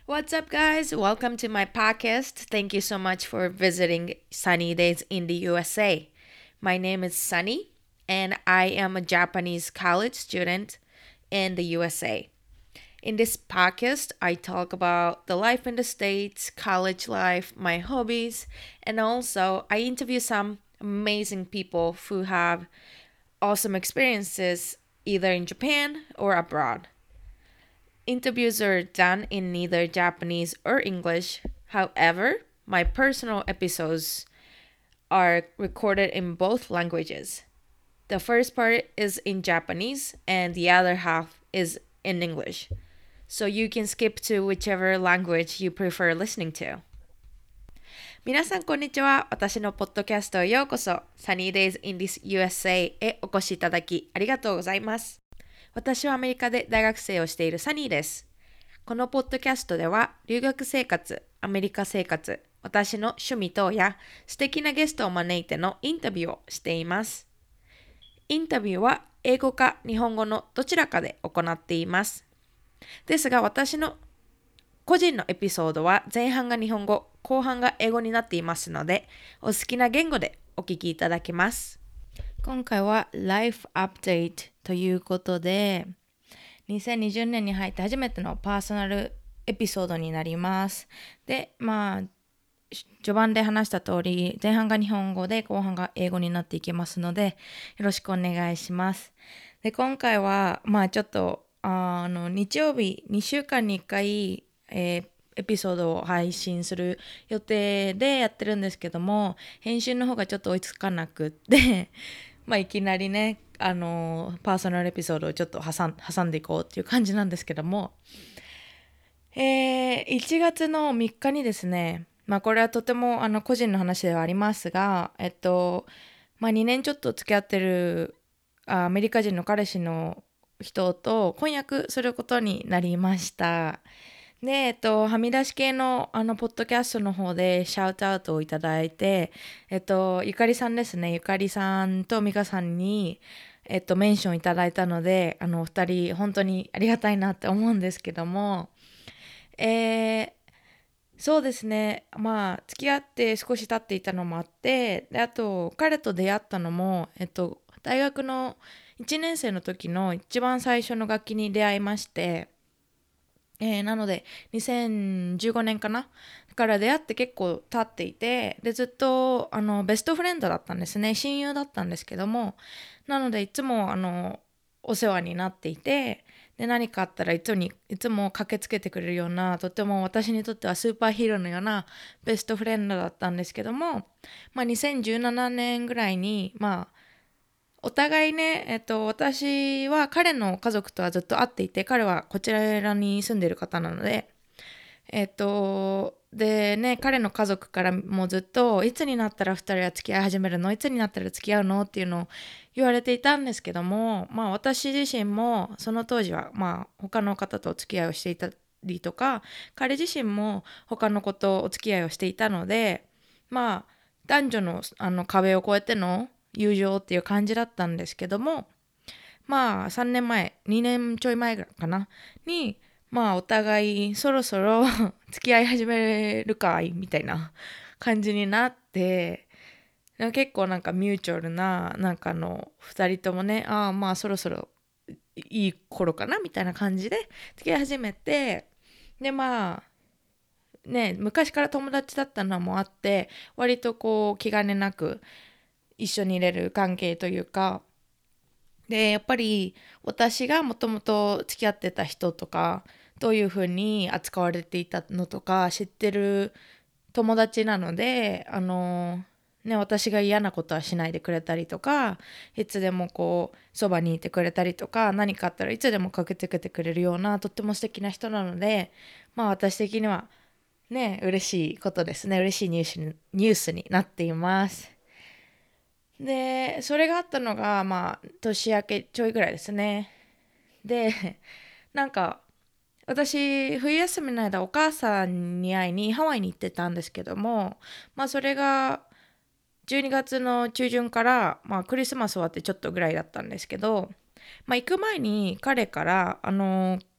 What's up, guys? Welcome to my podcast. Thank you so much for visiting Sunny Days in the USA. My name is Sunny, and I am a Japanese college student in the USA. In this podcast, I talk about the life in the States, college life, my hobbies, and also I interview some amazing people who have awesome experiences either in Japan or abroad. Interviews are done in neither Japanese or English. However, my personal episodes are recorded in both languages. The first part is in Japanese and the other half is in English. So you can skip to whichever language you prefer listening to. 皆さんこんにちは。私のポッドキャストへようこそ。Sunny Days in this USA へお越しいただきありがとうございます。私はアメリカで大学生をしているサニーです。このポッドキャストでは留学生活、アメリカ生活、私の趣味等や素敵なゲストを招いてのインタビューをしています。インタビューは英語か日本語のどちらかで行っています。ですが私の個人のエピソードは前半が日本語、後半が英語になっていますので、お好きな言語でお聞きいただけます。今回は Life Update ということで、2020年に入って初めてのパーソナルエピソードになります。で、序盤で話した通り、前半が日本語で後半が英語になっていきますので、よろしくお願いします。で、今回は、ちょっと、日曜日、2週間に1回、エピソードを配信する予定でやってるんですけども、編集の方がちょっと追いつかなくっていきなりね、パーソナルエピソードをちょっと挟んでいこうっていう感じなんですけども、1月の3日にですね、これはとても個人の話ではありますが、2年ちょっと付き合ってるアメリカ人の彼氏の人と婚約することになりました。で、はみ出し系のポッドキャストの方でシャウトアウトをいただいて、ゆかりさんですね、ゆかりさんとみかさんに、メンションいただいたので、お二人本当にありがたいなって思うんですけども、そうですね、付き合って少し経っていたのもあって、で、あと、彼と出会ったのも、大学の1年生の時の一番最初の楽器に出会いまして、なので2015年かなから出会って結構経っていて、でずっとベストフレンドだったんですね。親友だったんですけども、なのでいつもお世話になっていて、で何かあったらいつも駆けつけてくれるような、とても私にとってはスーパーヒーローのようなベストフレンドだったんですけども、2017年ぐらいにお互いね、私は彼の家族とはずっと会っていて、彼はこちらに住んでいる方なので、でね、彼の家族からもずっと、いつになったら2人は付き合い始めるの、いつになったら付き合うのっていうのを言われていたんですけども、私自身もその当時は、他の方とお付き合いをしていたりとか、彼自身も他の子とお付き合いをしていたので、男女の壁を越えての友情っていう感じだったんですけども、3年前、2年ちょい前かなに、お互いそろそろ付き合い始めるかいみたいな感じになって、結構なんかミューチュアルな、2人ともね、そろそろいい頃かなみたいな感じで付き合い始めて、で昔から友達だったのもあって、割とこう気兼ねなく一緒にいれる関係というか、でやっぱり私がもともと付き合ってた人とかどういう風に扱われていたのとか知ってる友達なので、私が嫌なことはしないでくれたりとか、いつでもこうそばにいてくれたりとか、何かあったらいつでも駆けつけてくれるようなとっても素敵な人なので、私的にはね、嬉しいことですね。嬉しいニュースになっています。で、それがあったのが、年明けちょいぐらいですね。で、なんか、私、冬休みの間、お母さんに会いにハワイに行ってたんですけども、それが12月の中旬から、クリスマス終わってちょっとぐらいだったんですけど、行く前に彼から、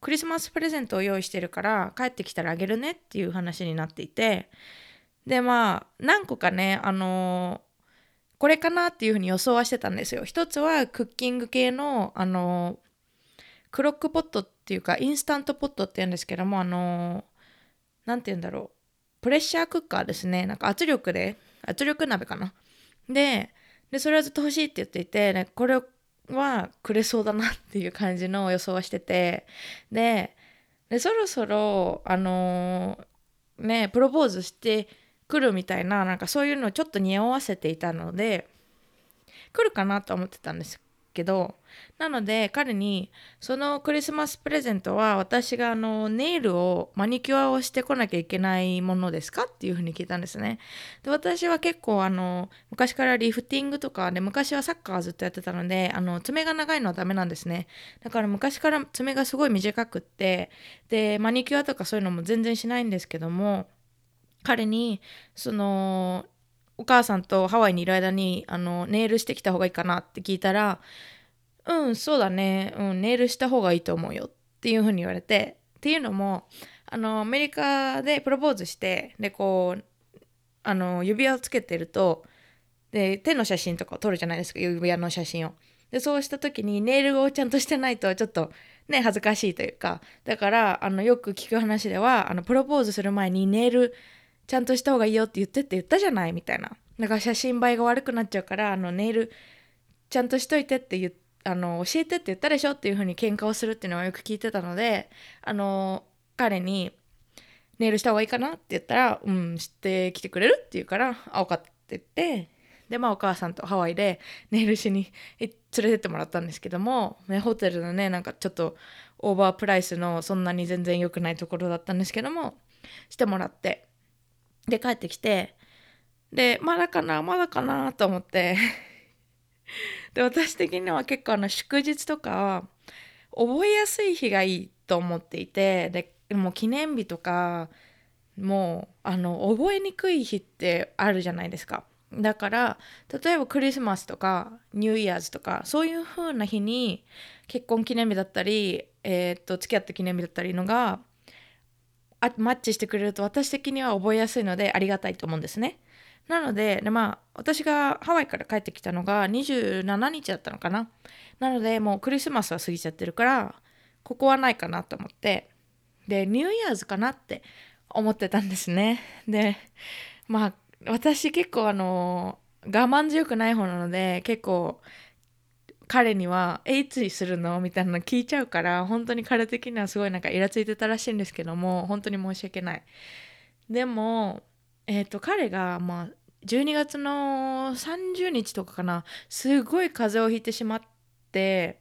クリスマスプレゼントを用意してるから帰ってきたらあげるねっていう話になっていて、でまあ何個かねこれかなっていうふうに予想はしてたんですよ。一つはクッキング系のクロックポットっていうかインスタントポットって言うんですけども、なんて言うんだろう、プレッシャークッカーですね。なんか圧力鍋かな。でそれはずっと欲しいって言っていて、ね、これはくれそうだなっていう感じの予想はしてて、でそろそろプロポーズしてくるみたいな、なんかそういうのをちょっと匂わせていたので来るかなと思ってたんですけど、なので彼にそのクリスマスプレゼントは私がネイルをマニキュアをしてこなきゃいけないものですかっていうふうに聞いたんですね。で私は結構昔からリフティングとかで、昔はサッカーずっとやってたので爪が長いのはダメなんですね。だから昔から爪がすごい短くって、でマニキュアとかそういうのも全然しないんですけども、彼にお母さんとハワイにいる間にネイルしてきた方がいいかなって聞いたら、うんそうだね、ネイルした方がいいと思うよっていう風に言われて、っていうのもアメリカでプロポーズして、でこう指輪をつけてると、で手の写真とかを撮るじゃないですか、指輪の写真を。でそうした時にネイルをちゃんとしてないとちょっとね恥ずかしいというか、だからよく聞く話ではプロポーズする前にネイルちゃんとした方がいいよって言ったじゃないみたいな。だから写真映えが悪くなっちゃうからネイルちゃんとしといてって教えてって言ったでしょっていう風に喧嘩をするっていうのはよく聞いてたので、彼にネイルした方がいいかなって言ったら、してきてくれるって言うから、分かったって言って、でお母さんとハワイでネイルしに連れてってもらったんですけども、ホテルのねなんかちょっとオーバープライスのそんなに全然良くないところだったんですけども、してもらって、で帰ってきて、でまだかなと思ってで私的には結構祝日とか覚えやすい日がいいと思っていて、でも記念日とかもう覚えにくい日ってあるじゃないですか。だから例えばクリスマスとかニューイヤーズとかそういう風な日に結婚記念日だったり、付き合った記念日だったりのがマッチしてくれると私的には覚えやすいのでありがたいと思うんですね。なので、私がハワイから帰ってきたのが27日だったのかな。なのでもうクリスマスは過ぎちゃってるからここはないかなと思って、でニューイヤーズかなって思ってたんですね。で私結構我慢強くない方なので、結構彼にはいつするのみたいなの聞いちゃうから、本当に彼的にはすごいなんかイラついてたらしいんですけども、本当に申し訳ない。でも彼が12月の30日とかかな、すごい風邪をひいてしまって、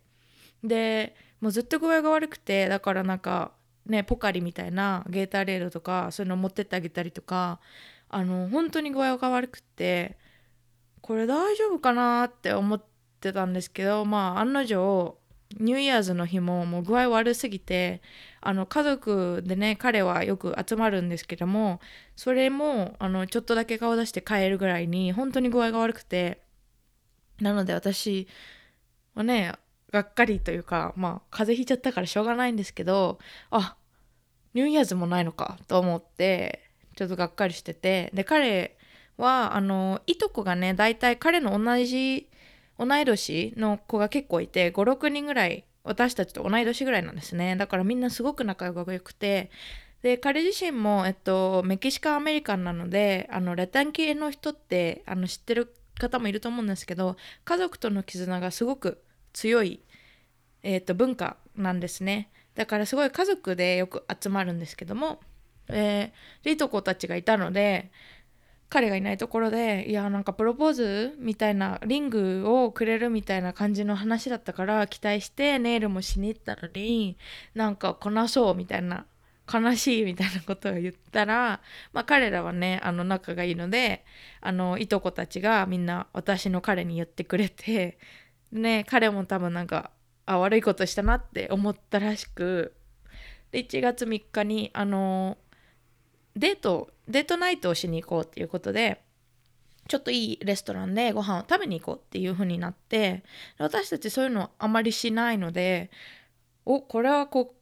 でもうずっと具合が悪くて、だからなんかねポカリみたいなゲータレードとかそういうの持ってってあげたりとか、本当に具合が悪くて、これ大丈夫かなって思ってたんですけど、案の定ニューイヤーズの日ももう具合悪すぎて、家族でね彼はよく集まるんですけども、それもちょっとだけ顔出して帰るぐらいに本当に具合が悪くて、なので私はねがっかりというか、風邪ひいちゃったからしょうがないんですけど、ニューイヤーズもないのかと思ってちょっとがっかりしてて、で彼はいとこがね大体彼の同い年の子が結構いて、56人ぐらい私たちと同い年ぐらいなんですね。だからみんなすごく仲良くて、で彼自身も、メキシカンアメリカンなのでラテン系の人って知ってる方もいると思うんですけど、家族との絆がすごく強い、文化なんですね。だからすごい家族でよく集まるんですけども、でいとこたちがいたので、彼がいないところで、いやなんかプロポーズみたいな、リングをくれるみたいな感じの話だったから期待してネイルもしに行ったのに、なんかこなそうみたいな、悲しいみたいなことを言ったら、彼らはね仲がいいので、いとこたちがみんな私の彼に言ってくれて、ね彼も多分なんか悪いことしたなって思ったらしく、で1月3日にデートナイトをしに行こうっていうことで、ちょっといいレストランでご飯を食べに行こうっていう風になって、私たちそういうのあまりしないので、これは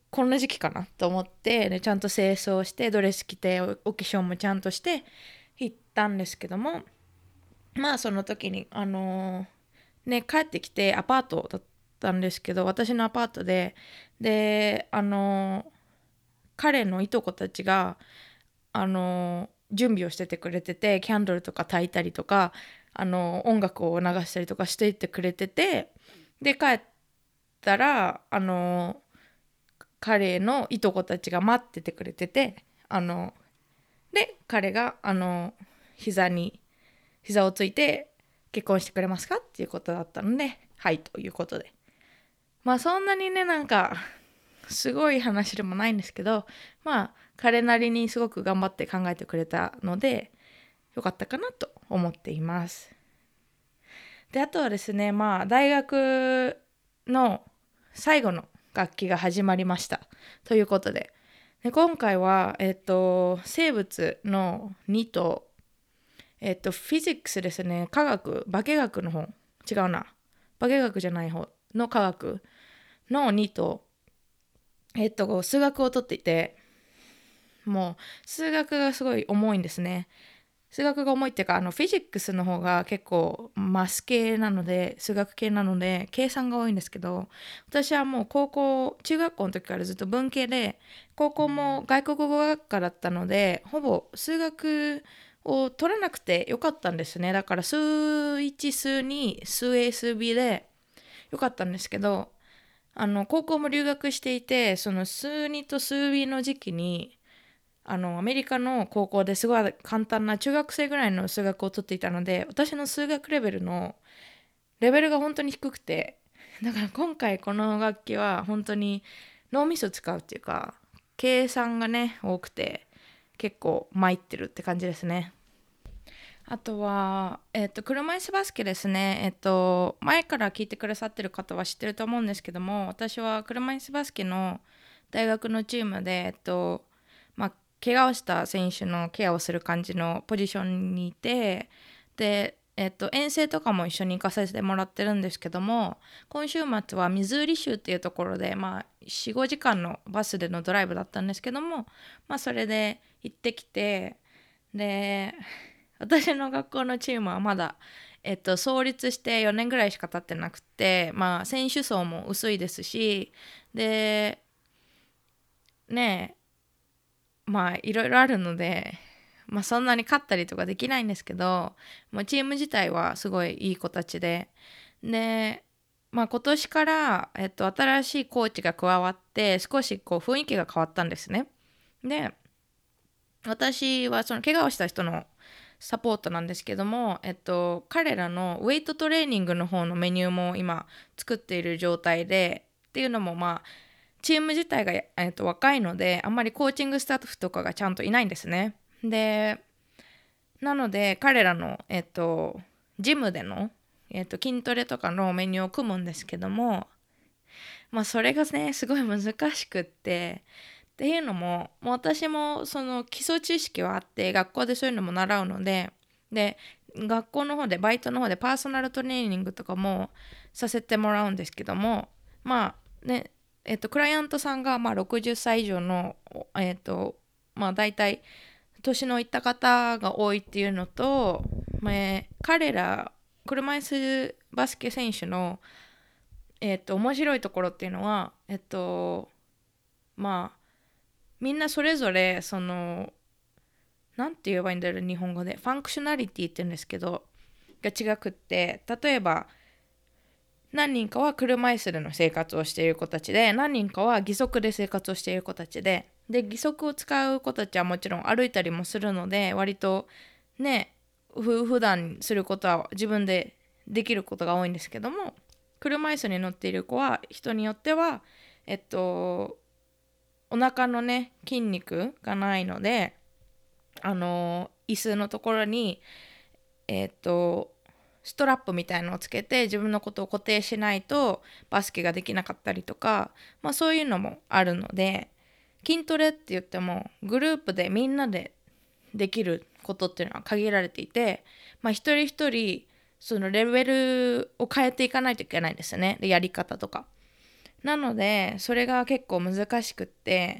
こんな時期かなと思って、でちゃんと清掃してドレス着てお化粧もちゃんとして行ったんですけども、まあその時に帰ってきてアパートだったんですけど、私のアパートで彼のいとこたちが準備をしててくれてて、キャンドルとか焚いたりとか音楽を流したりとかしていってくれてて、で帰ったら彼のいとこたちが待っててくれてて、で彼が膝をついて結婚してくれますかっていうことだったので、はいということで、まあそんなにねなんかすごい話でもないんですけど、まあ彼なりにすごく頑張って考えてくれたのでよかったかなと思っています。であとはですね、まあ大学の最後の学期が始まりましたということで、今回は生物の2とフィジックスですね、化学化学の方、違うな、化学じゃない方の科学の2と数学を取っていて、もう数学がすごい重いんですね。数学が重いっていうか、フィジックスの方が結構マス系なので、数学系なので計算が多いんですけど、私はもう中学校の時からずっと文系で、高校も外国語学科だったので、ほぼ数学を取らなくてよかったんですね。だから数1、数2、数 A、数 B でよかったんですけど、高校も留学していて、その数2と数 B の時期にアメリカの高校ですごい簡単な中学生ぐらいの数学を取っていたので、私の数学レベルが本当に低くて、だから今回この学期は本当に脳みそ使うっていうか、計算がね多くて結構参ってるって感じですね。あとは、車椅子バスケですね。前から聞いてくださってる方は知ってると思うんですけども、私は車椅子バスケの大学のチームで、まあ、怪我をした選手のケアをする感じのポジションにいて、で、遠征とかも一緒に行かせてもらってるんですけども、今週末はミズーリ州っていうところで、まあ、4、5時間のバスでのドライブだったんですけども、まあ、それで行ってきて、で、私の学校のチームはまだ、創立して4年ぐらいしか経ってなくて、まあ、選手層も薄いですし、で、ねまあ、いろいろあるので、まあ、そんなに勝ったりとかできないんですけど、もうチーム自体はすごいいい子たちで、まあ、今年から、新しいコーチが加わって、少しこう雰囲気が変わったんですね。で、私はその怪我をした人のサポートなんですけども、彼らのウェイトトレーニングの方のメニューも今作っている状態で、っていうのもまあチーム自体が、若いのであんまりコーチングスタッフとかがちゃんといないんですね。でなので彼らの、ジムでの、筋トレとかのメニューを組むんですけども、まあそれがねすごい難しくっていうのもう私もその基礎知識はあって学校でそういうのも習うので学校の方でバイトの方でパーソナルトレーニングとかもさせてもらうんですけども、まあねクライアントさんがまあ60歳以上のまあ大体年のいった方が多いっていうのと、彼ら車椅子バスケ選手の面白いところっていうのはまあみんなそれぞれそのなんて言えばいいんだろう、日本語でファンクショナリティって言うんですけどが違くって、例えば何人かは車椅子での生活をしている子たちで、何人かは義足で生活をしている子たちで義足を使う子たちはもちろん歩いたりもするので、割とね普段することは自分でできることが多いんですけども、車椅子に乗っている子は人によってはお腹のね筋肉がないので椅子のところにストラップみたいのをつけて自分のことを固定しないとバスケができなかったりとか、まあそういうのもあるので、筋トレって言ってもグループでみんなでできることっていうのは限られていて、まあ一人一人そのレベルを変えていかないといけないんですよね。でやり方とかなのでそれが結構難しくって、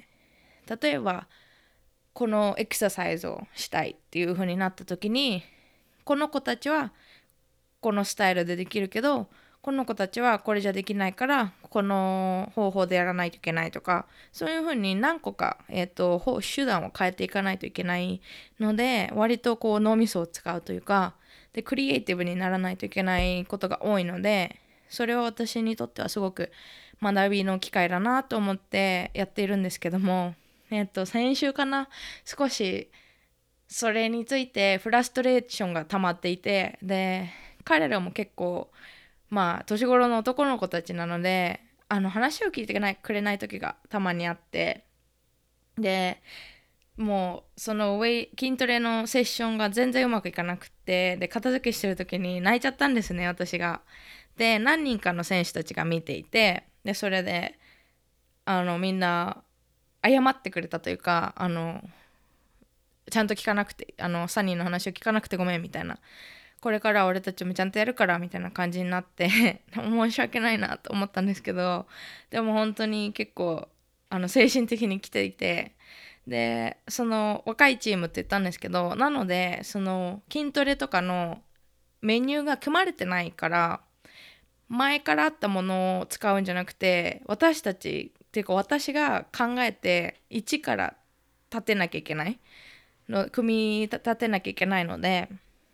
例えばこのエクササイズをしたいっていう風になった時に、この子たちはこのスタイルでできるけど、この子たちはこれじゃできないからこの方法でやらないといけないとか、そういう風に何個か、手段を変えていかないといけないので、割とこう脳みそを使うというかで、クリエイティブにならないといけないことが多いので、それは私にとってはすごく学びの機会だなと思ってやっているんですけども、先週かな、少しそれについてフラストレーションが溜まっていて、で彼らも結構年頃の男の子たちなので、話を聞いてくれない時がたまにあって、でもうその筋トレのセッションが全然うまくいかなくって、で片付けしてる時に泣いちゃったんですね、私が。で何人かの選手たちが見ていて、でそれでみんな謝ってくれたというか、ちゃんと聞かなくて、サニーの話を聞かなくてごめんみたいな、これから俺たちもちゃんとやるからみたいな感じになって申し訳ないなと思ったんですけど、でも本当に結構精神的に来ていて、でその若いチームって言ったんですけど、なのでその筋トレとかのメニューが組まれてないから、前からあったものを使うんじゃなくて、私たちっていうか私が考えて一から立てなきゃいけないの、組み立てなきゃいけないので、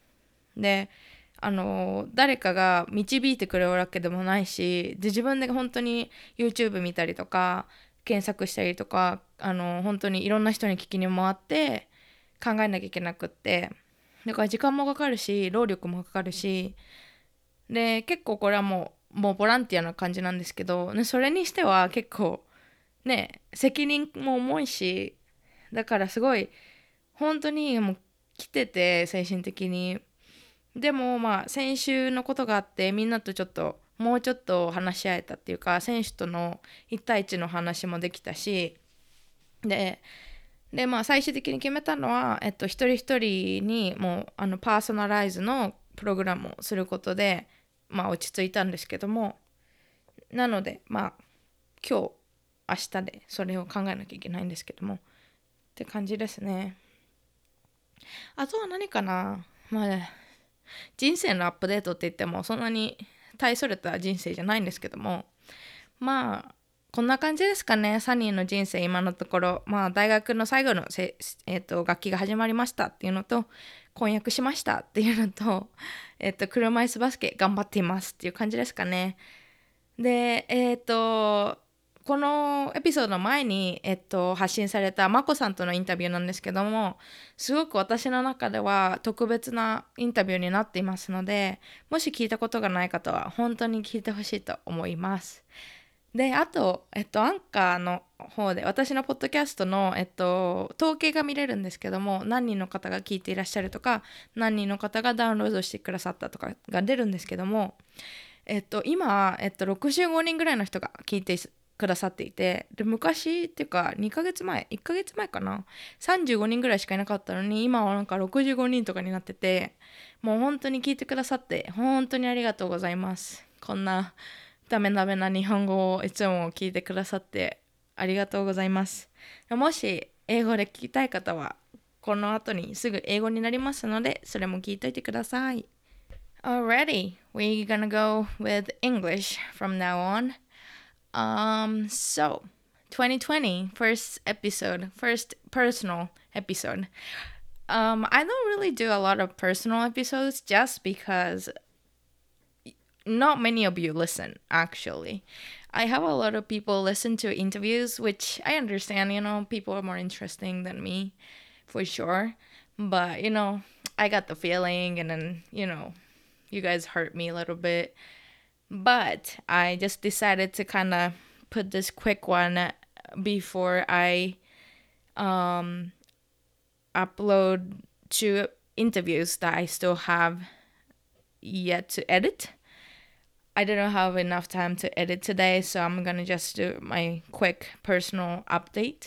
誰かが導いてくれるわけでもないし、で自分で本当に YouTube 見たりとか検索したりとか、本当にいろんな人に聞きに回って考えなきゃいけなくって、だから時間もかかるし労力もかかるし、で結構これはもうボランティアな感じなんですけど、ね、それにしては結構ね責任も重いし、だからすごい本当にもう来てて精神的に。でも先週のことがあって、みんなともうちょっと話し合えたっていうか、選手との1対1の話もできたし、で最終的に決めたのは、一人一人にもうパーソナライズのプログラムをすることで落ち着いたんですけども、なので今日明日でそれを考えなきゃいけないんですけどもって感じですね。あとは何かな、人生のアップデートって言ってもそんなに大それた人生じゃないんですけども、こんな感じですかね、サニーの人生今のところ。大学の最後の学期が始まりましたっていうのと、婚約しましたっていうのと、車椅子バスケ頑張っていますっていう感じですかね。でこのエピソードの前に、発信されたマコさんとのインタビューなんですけども、すごく私の中では特別なインタビューになっていますので、もし聞いたことがない方は本当に聞いてほしいと思います。であと、アンカーの方で私のポッドキャストの、統計が見れるんですけども、何人の方が聞いていらっしゃるとか、何人の方がダウンロードしてくださったとかが出るんですけども、今、65人ぐらいの人が聞いてくださっていて、で昔っていうか2ヶ月前1ヶ月前かな、35人ぐらいしかいなかったのに、今はなんか65人とかになってて、もう本当に聞いてくださって本当にありがとうございます。こんなダメダメな日本語をいつも聞いてくださってありがとうございます。もし英語で聞きたい方はこの後にすぐ英語になりますので、それも聞いといてください。Alrighty, we're gonna go with English from now on. So 2020, first episode, first personal episode. I don't really do a lot of personal episodes just because not many of you listen, actually. I have a lot of people listen to interviews, which I understand, people are more interesting than me, for sure. But, I got the feeling, and then, you guys hurt me a little bit. But I just decided to kind of put this quick one before I upload 2 interviews that I still have yet to edit. I didn't have enough time to edit today, so I'm gonna just do my quick personal update.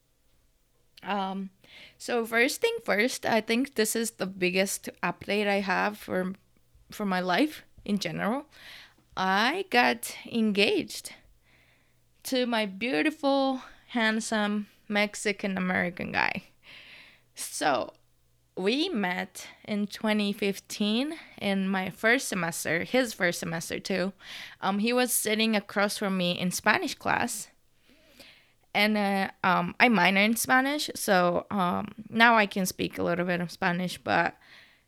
So first thing first, I think this is the biggest update I have for my life in general. I got engaged. to my beautiful, handsome Mexican American guy. So, we met in 2015 in my first semester, his first semester too. He was sitting across from me in Spanish class, and I minor in Spanish, so now I can speak a little bit of Spanish, but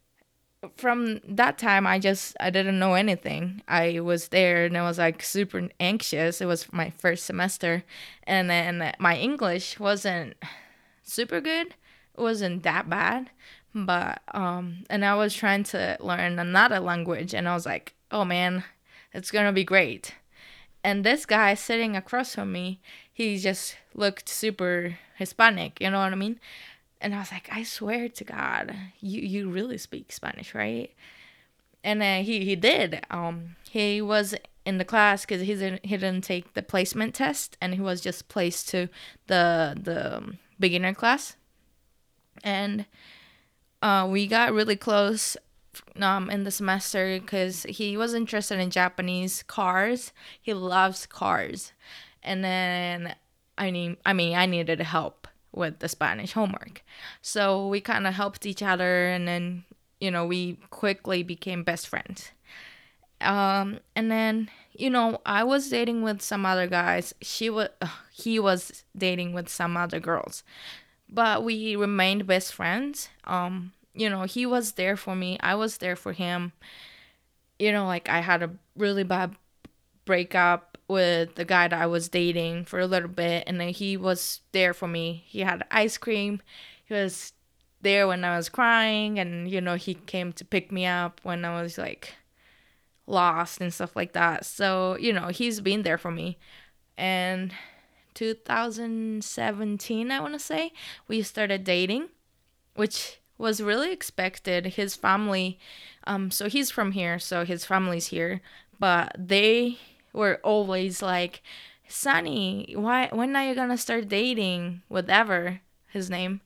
from that time I didn't know anything. I was there and I was like super anxious. It was my first semester, and then my English wasn't super good. It wasn't that bad, but and I was trying to learn another language, and I was like, oh man, it's gonna be great. And this guy sitting across from me, he just looked super Hispanic, you know what I mean? And I was like, I swear to God, you really speak Spanish, right? And he did. He was in the class because he didn't take the placement test, and he was just placed to the beginner class. And we got really close in the semester because he was interested in Japanese cars. He loves cars, and then I needed help with the Spanish homework, so we kind of helped each other, and then we quickly became best friends. And then I was dating with some other guys. He was dating with some other girls, but we remained best friends. He was there for me. I was there for him. Like I had a really bad breakup with the guy that I was dating for a little bit, and then he was there for me. He had ice cream. He was there when I was crying, and he came to pick me up when I was like lost and stuff like that. So, he's been there for me. And 2017, I want to say, we started dating, which was really expected. His family, so he's from here, so his family's here, but they were always like, Sunny, when are you gonna start dating? Whatever his name.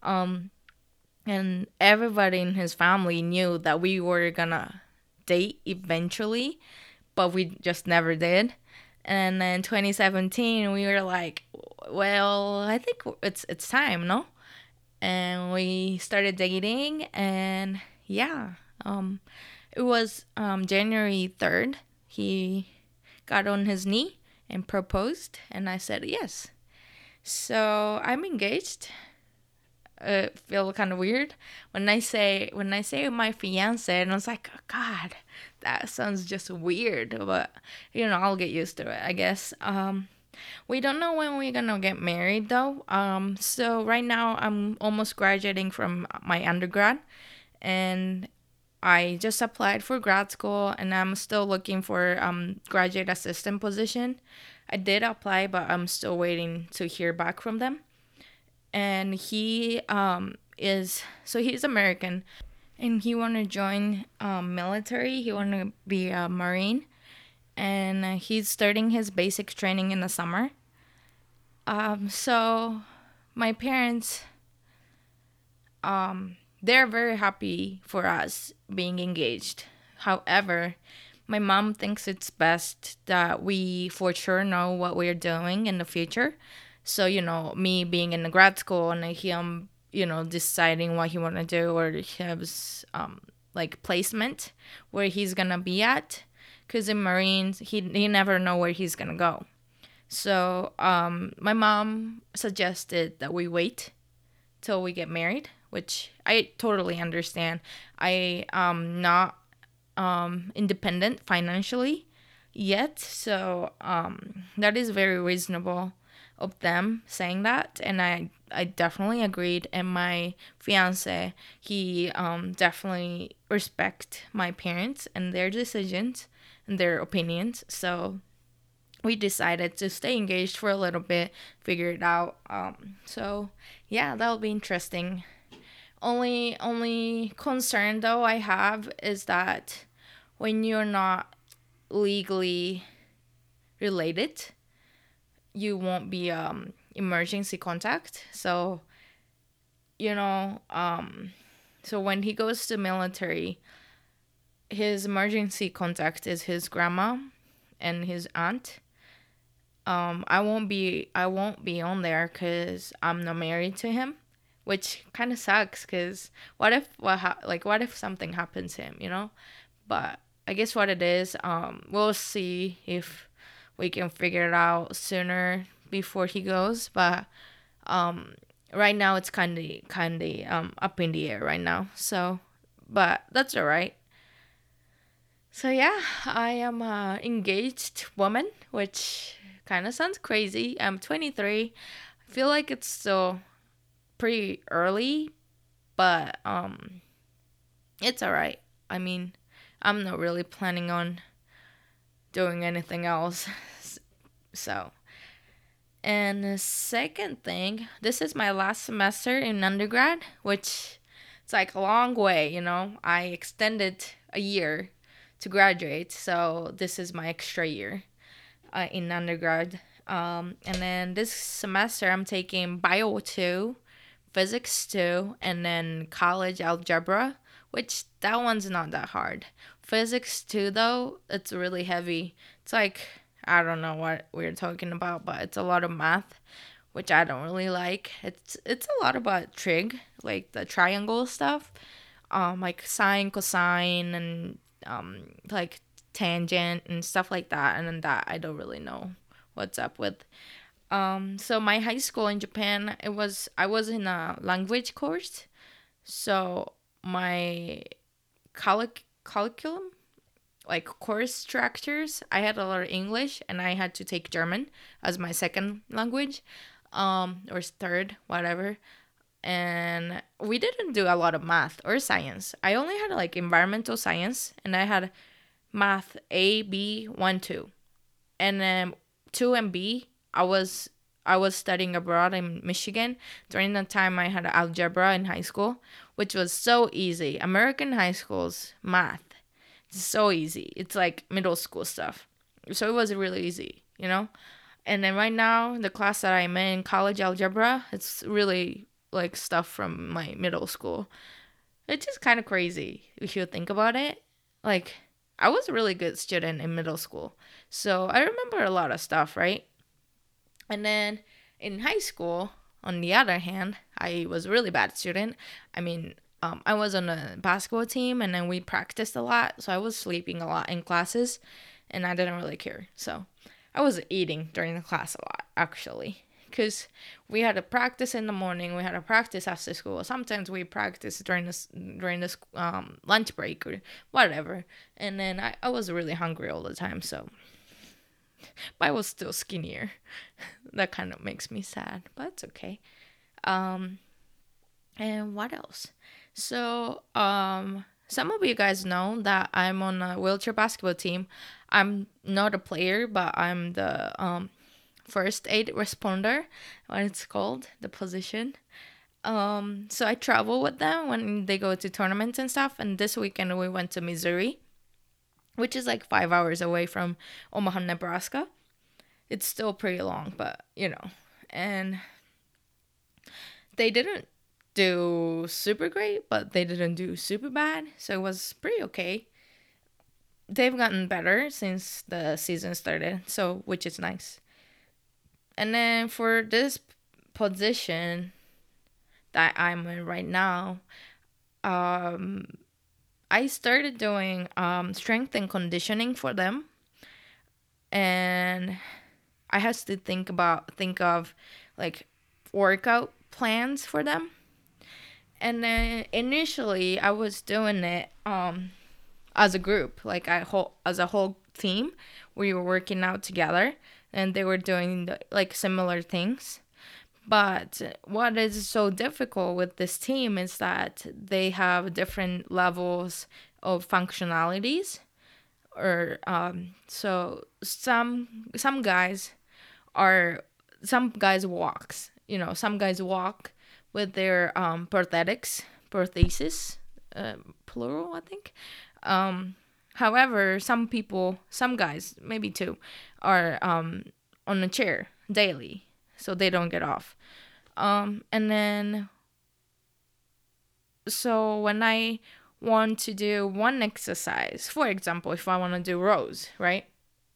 And everybody in his family knew that we were gonna date eventually, but we just never did. And then 2017, we were like, well, I think it's time, no? And we started dating, and yeah, it was January 3rd. He got on his knee and proposed, and I said yes. So I'm engaged. Feel kind of weird when I say my fiance, and I was like, oh, God, that sounds just weird, but I'll get used to it, I guess. We don't know when we're gonna get married though. So right now I'm almost graduating from my undergrad, and I just applied for grad school, and I'm still looking for graduate assistant position. I did apply, but I'm still waiting to hear back from them. And he's American, and he want to join military. He want to be a Marine, and he's starting his basic training in the summer. So my parents, they're very happy for us being engaged. However, my mom thinks it's best that we for sure know what we're doing in the future. So, me being in the grad school and him, deciding what he want to do, or his like placement where he's gonna be at. Because in Marines, he never know where he's gonna go. So my mom suggested that we wait till we get married, which I totally understand. I am not independent financially yet, so that is very reasonable of them saying that, and I definitely agreed. And my fiance, he definitely respect my parents and their decisions and their opinions. So we decided to stay engaged for a little bit, figure it out. So yeah, that'll be interesting. Only concern though I have is that when you're not legally related, you won't be emergency contact. So so when he goes to military, his emergency contact is his grandma and his aunt. I won't be on there because I'm not married to him, which kind of sucks. Because what if something happens to him, you know? But I guess what it is, we'll see if we can figure it out sooner before he goes. But um, right now it's kind of up in the air right now. So, but that's all right. So yeah, I am a engaged woman, which kind of sounds crazy. I'm 23. I feel like it's still pretty early, but it's all right. I mean, I'm not really planning on doing anything else. So, and the second thing, this is my last semester in undergrad, which it's like a long way, you know. I extended a year to graduate, so this is my extra year in undergrad. And then this semester, I'm taking Bio 2, Physics 2, and then College Algebra, which that one's not that hard. Physics 2, though, it's really heavy. It's like, I don't know what we're talking about, but it's a lot of math, which I don't really like. It's a lot about trig, like the triangle stuff, like sine, cosine, and like tangent and stuff like that. And then that I don't really know what's up with. So my high school in Japan, I was in a language course. So my curriculum, like course structures, I had a lot of English and I had to take German as my second language, or third, whatever. And we didn't do a lot of math or science. I only had like environmental science, and I had math A, B, 1, 2. And then 2 and B, I was studying abroad in Michigan. During that time I had algebra in high school, which was so easy. American high schools math, it's so easy. It's like middle school stuff. So it was really easy, you know? And then right now, the class that I'm in, college algebra, it's really like stuff from my middle school. It's just kind of crazy if you think about it. Like, I was a really good student in middle school. So I remember a lot of stuff, right? And then in high school, on the other hand, I was a really bad student. I mean, I was on a basketball team and then we practiced a lot. So I was sleeping a lot in classes and I didn't really care. So I was eating during the class a lot, actually. Because we had a practice in the morning, we had a practice after school. Sometimes we practice during this lunch break or whatever. And then I was really hungry all the time, so but I was still skinnier. That kind of makes me sad, but it's okay. Um, and what else? So, some of you guys know that I'm on a wheelchair basketball team. I'm not a player, but I'm the first aid responder, what it's called, the position. So I travel with them when they go to tournaments and stuff. And this weekend we went to Missouri, which is like 5 hours away from Omaha, Nebraska. It's still pretty long, but you know. And they didn't do super great, but they didn't do super bad. So it was pretty okay. They've gotten better since the season started, so which is nice. And then for this position that I'm in right now, um, I started doing strength and conditioning for them, and I had to think of like workout plans for them. And then initially I was doing it as a group, like as a whole team. We were working out together, and they were doing like similar things. But what is so difficult with this team is that they have different levels of functionalities. Or so are some guys walks. You know, some guys walk with their prosthesis, plural, I think. However, some guys, maybe two, are on a chair daily, so they don't get off. And then, so when I want to do one exercise, for example, if I want to do rows, right?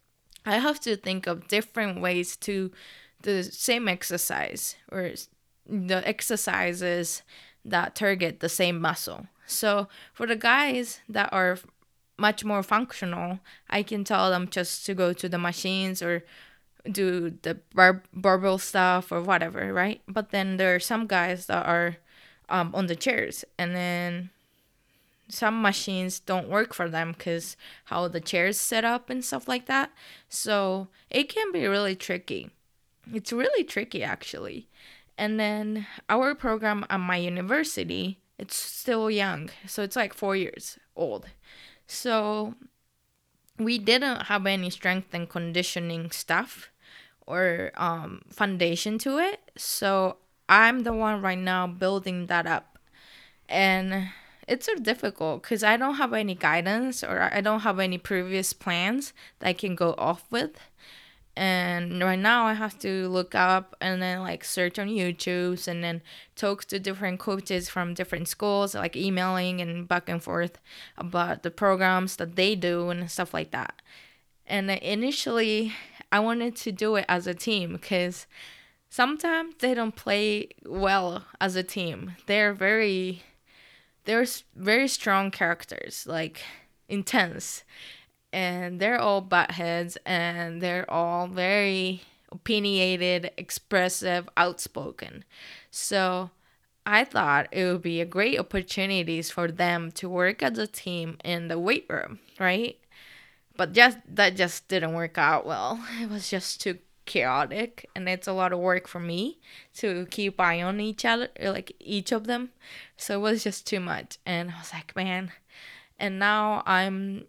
I have to think of different ways to the same exercise or the exercises that target the same muscle. So for the guys that are much more functional, I can tell them just to go to the machines or do the barbell stuff or whatever, right? But then there are some guys that are on the chairs, and then some machines don't work for them because how the chairs set up and stuff like that. So it can be really tricky. It's really tricky actually. And then our program at my university, it's still young. So it's like 4 years old. So we didn't have any strength and conditioning stuff or foundation to it. So I'm the one right now building that up. And it's so difficult because I don't have any guidance or I don't have any previous plans that I can go off with. And right now I have to look up and then like search on YouTube and then talk to different coaches from different schools, like emailing and back and forth about the programs that they do and stuff like that. And initially I wanted to do it as a team because sometimes they don't play well as a team. They're very strong characters, like intense, and they're all butt heads and they're all very opinionated, expressive, outspoken. So I thought it would be a great opportunities for them to work as a team in the weight room, right? But just that just didn't work out well. It was just too chaotic and it's a lot of work for me to keep eye on each other, like each of them. So it was just too much and I was like, man. And now I'm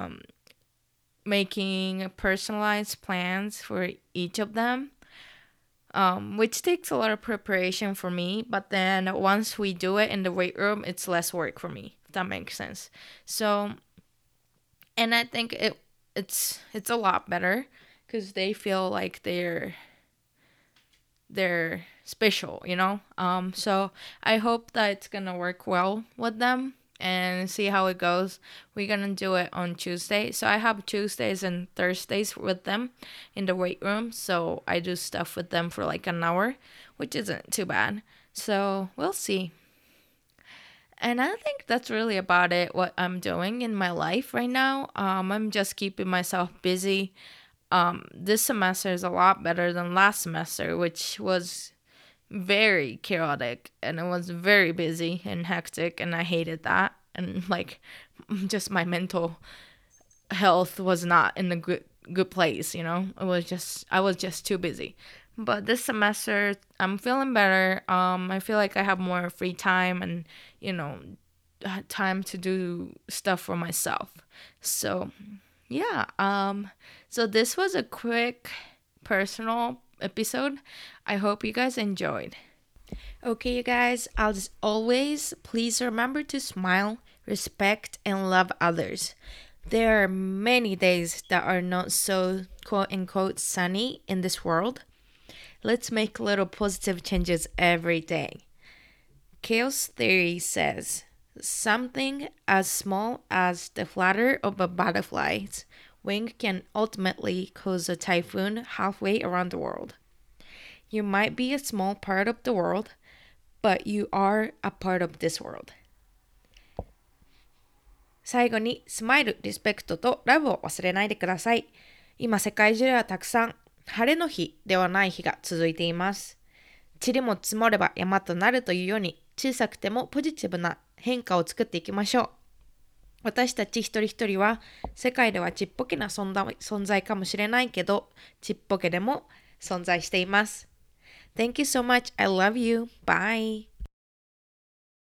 making personalized plans for each of them, which takes a lot of preparation for me. But then once we do it in the weight room, it's less work for me, if that makes sense. So, and I think it's a lot better because they feel like they're special, you know. So I hope that it's gonna work well with them and see how it goes. We're gonna do it on Tuesday. So I have Tuesdays and Thursdays with them in the weight room. So I do stuff with them for like an hour, which isn't too bad. So we'll see. And I think that's really about it, what I'm doing in my life right now. I'm just keeping myself busy. This semester is a lot better than last semester, which was very chaotic and it was very busy and hectic, and I hated that. And like, just my mental health was not in a good place, you know. I was just too busy. But this semester I'm feeling better. I feel like I have more free time and, you know, time to do stuff for myself. So, yeah. So this was a quick personal episode. I hope you guys enjoyed. Okay, you guys, as always, please remember to smile, respect, and love others. There are many days that are not so quote unquote sunny in this world. Let's make little positive changes every day. Chaos theory says something as small as the flutter of a butterfly's wing can ultimately cause a typhoon halfway around the world. You might be a small part of the world, but you are a part of this world. 最後にスマイル、リスペクトとラブを忘れないでください。今世界中ではたくさん晴れの日ではない日が続いています。塵も積もれば山となるというように小さくてもポジティブな変化を作っていきましょう。私たち一人一人は世界ではちっぽけな存在かもしれないけど、ちっぽけでも存在しています。Thank you so much. I love you. Bye.